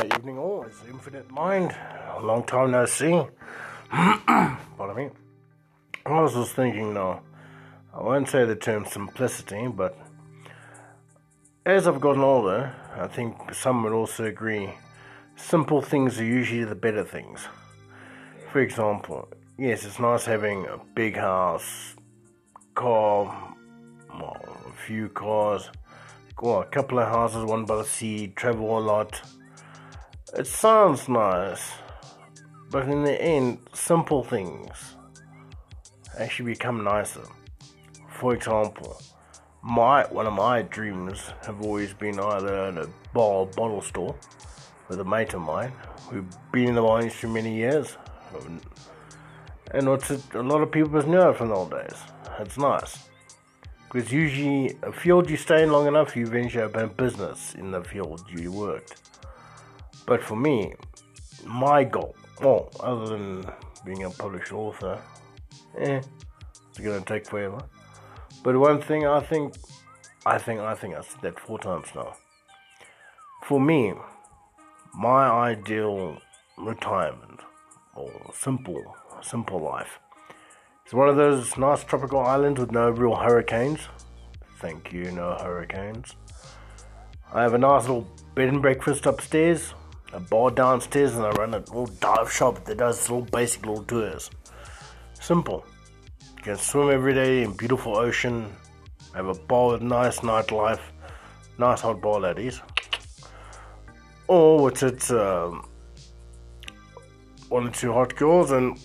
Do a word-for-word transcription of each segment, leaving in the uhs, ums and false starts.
evening all. It's Infinite Mind. A long time no see. Pardon me. I was just thinking now, I won't say the term simplicity, but as I've gotten older, I think some would also agree, simple things are usually the better things. For example, yes, it's nice having a big house, car, well, a few cars, well, a couple of houses, one by the sea, travel a lot. It sounds nice, but in the end, simple things actually become nicer. For example, my one of my dreams have always been either in a bar bottle store with a mate of mine who've been in the wine industry many years, and what's it, a lot of people just know it from the old days. It's nice. Because usually, a field you stay in long enough, you eventually open a business in the field you worked. But for me, my goal, well, other than being a published author, eh, it's going to take forever. But one thing I think, I think, I think I've said that four times now. For me, my ideal retirement, or simple, simple life, it's one of those nice tropical islands with no real hurricanes. Thank you, no hurricanes. I have a nice little bed and breakfast upstairs, a bar downstairs, and I run a little dive shop that does little basic little tours. Simple. You can swim every day in beautiful ocean, have a bar with nice nightlife, nice hot bar ladies. Or what's it, um, one or two hot girls and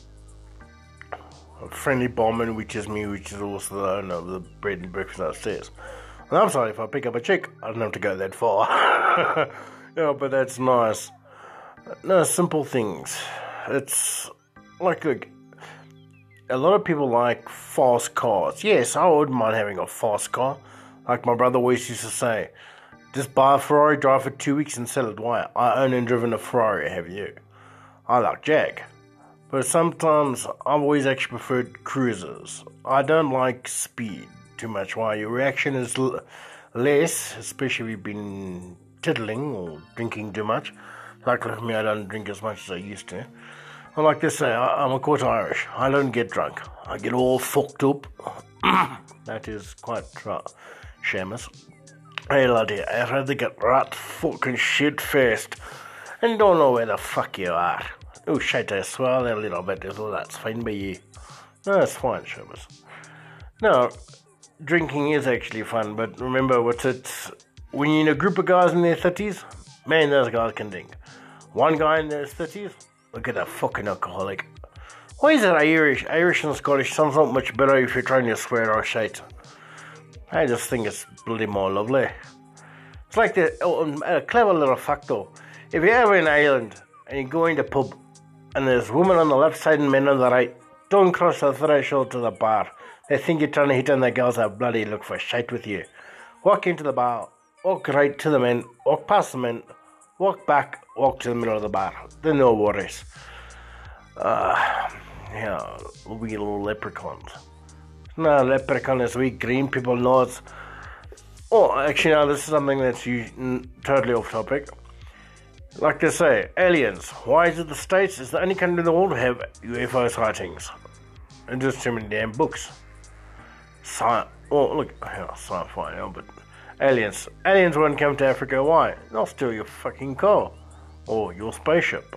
a friendly barman, which is me, which is also the owner of the bread and breakfast upstairs. And I'm sorry, if I pick up a chick, I don't have to go that far. Yeah, but that's nice. No, simple things. It's like, like a lot of people like fast cars. Yes, I wouldn't mind having a fast car. Like my brother always used to say, just buy a Ferrari, drive for two weeks and sell it. Why? I own and driven a Ferrari, have you? I like Jag. But sometimes I've always actually preferred cruisers. I don't like speed too much. Why? Your reaction is l- less, especially if you've been tiddling or drinking too much. Like, like me, I don't drink as much as I used to. I like to say, I, I'm a quarter Irish. I don't get drunk. I get all fucked up. That is quite uh, shameless. Hey laddie, I'd rather get right fucking shit faced and don't know where the fuck you are. Oh shit, I swell a little bit, so that's fine by you. No, it's fine, shameless. No, drinking is actually fun, but remember what's it, when you're in a group of guys in their thirties, man, those guys can drink. One guy in their thirties, look at that fucking alcoholic. Why is it Irish? Irish and Scottish sounds not much better if you're trying to swear or shit. I just think it's bloody more lovely. It's like the oh, a clever little fact though. If you're ever in Ireland and you go into a pub and there's women on the left side and men on the right, don't cross the threshold to the bar. They think you're trying to hit on the girls that bloody look for shite with you. Walk into the bar, walk right to the men, walk past the men, walk back, walk to the middle of the bar. There's no worries. Uh, yeah, we little leprechauns. No, leprechaun is we green people know it's... Oh, actually, now this is something that's u- totally off topic. Like they say, aliens. Why is it the States is the only country in the world to have U F O sightings? And just too many damn books. Sci- oh, look, yeah, sci-fi, yeah, but aliens. Aliens won't come to Africa. Why? They'll steal your fucking car or your spaceship.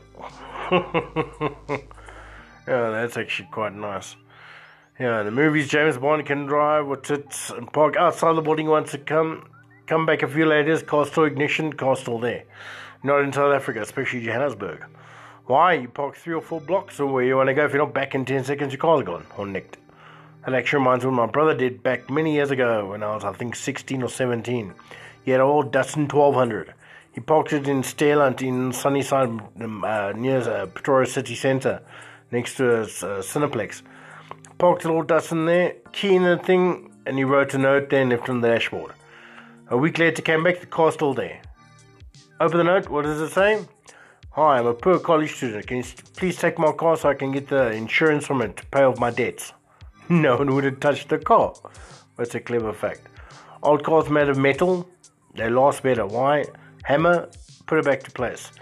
Yeah, that's actually quite nice. Yeah, in the movies, James Bond can drive what's it and park outside the building once it come come back a few later, car still ignition, car still there. Not in South Africa, especially Johannesburg. Why? You park three or four blocks or where you want to go. If you're not back in ten seconds, your car's gone or nicked. That actually reminds me of what my brother did back many years ago when I was, I think, sixteen or seventeen. He had an old Datsun twelve hundred. He parked it in Sterland in Sunnyside, uh, near uh, Pretoria City Centre, next to a uh, Cineplex. Parked the old Datsun there, key in the thing, and he wrote a note there and left it on the dashboard. A week later, came back, the car's still there. Open the note, what does it say? Hi, I'm a poor college student. Can you please take my car so I can get the insurance from it to pay off my debts? No one would have touched the car. That's a clever fact. Old cars made of metal, they last better. Why? Hammer, put it back to place.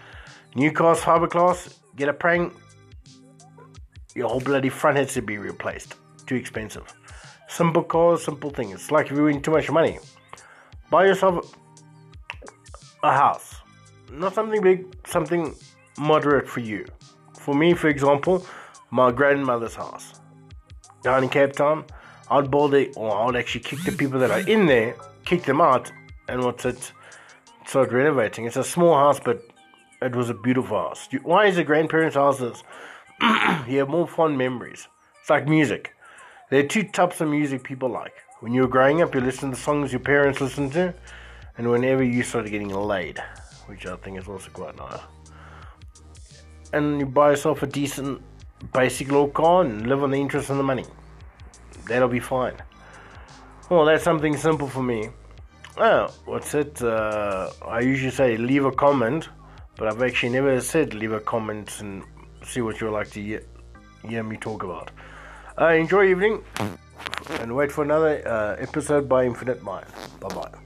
New cars, fiberglass, get a prank. Your whole bloody front has to be replaced. Too expensive. Simple cars, simple things. It's like if you win too much money. Buy yourself a house. Not something big, something moderate for you. For me, for example, my grandmother's house. Down in Cape Town, I'd build it, or I'd actually kick the people that are in there, kick them out, and what's it, start renovating. It's a small house, but it was a beautiful house. Why is a grandparents' houses? You have more fond memories. It's like music. There are two types of music people like. When you were growing up, you listened to songs your parents listened to, and whenever you started getting laid, which I think is also quite nice. And you buy yourself a decent, basic little car and live on the interest and the money. That'll be fine. Well, that's something simple for me. Oh, what's it? Uh, I usually say leave a comment, but I've actually never said leave a comment and see what you'd like to hear, hear me talk about. Uh, enjoy your evening and wait for another uh, episode by Infinite Mind. Bye bye.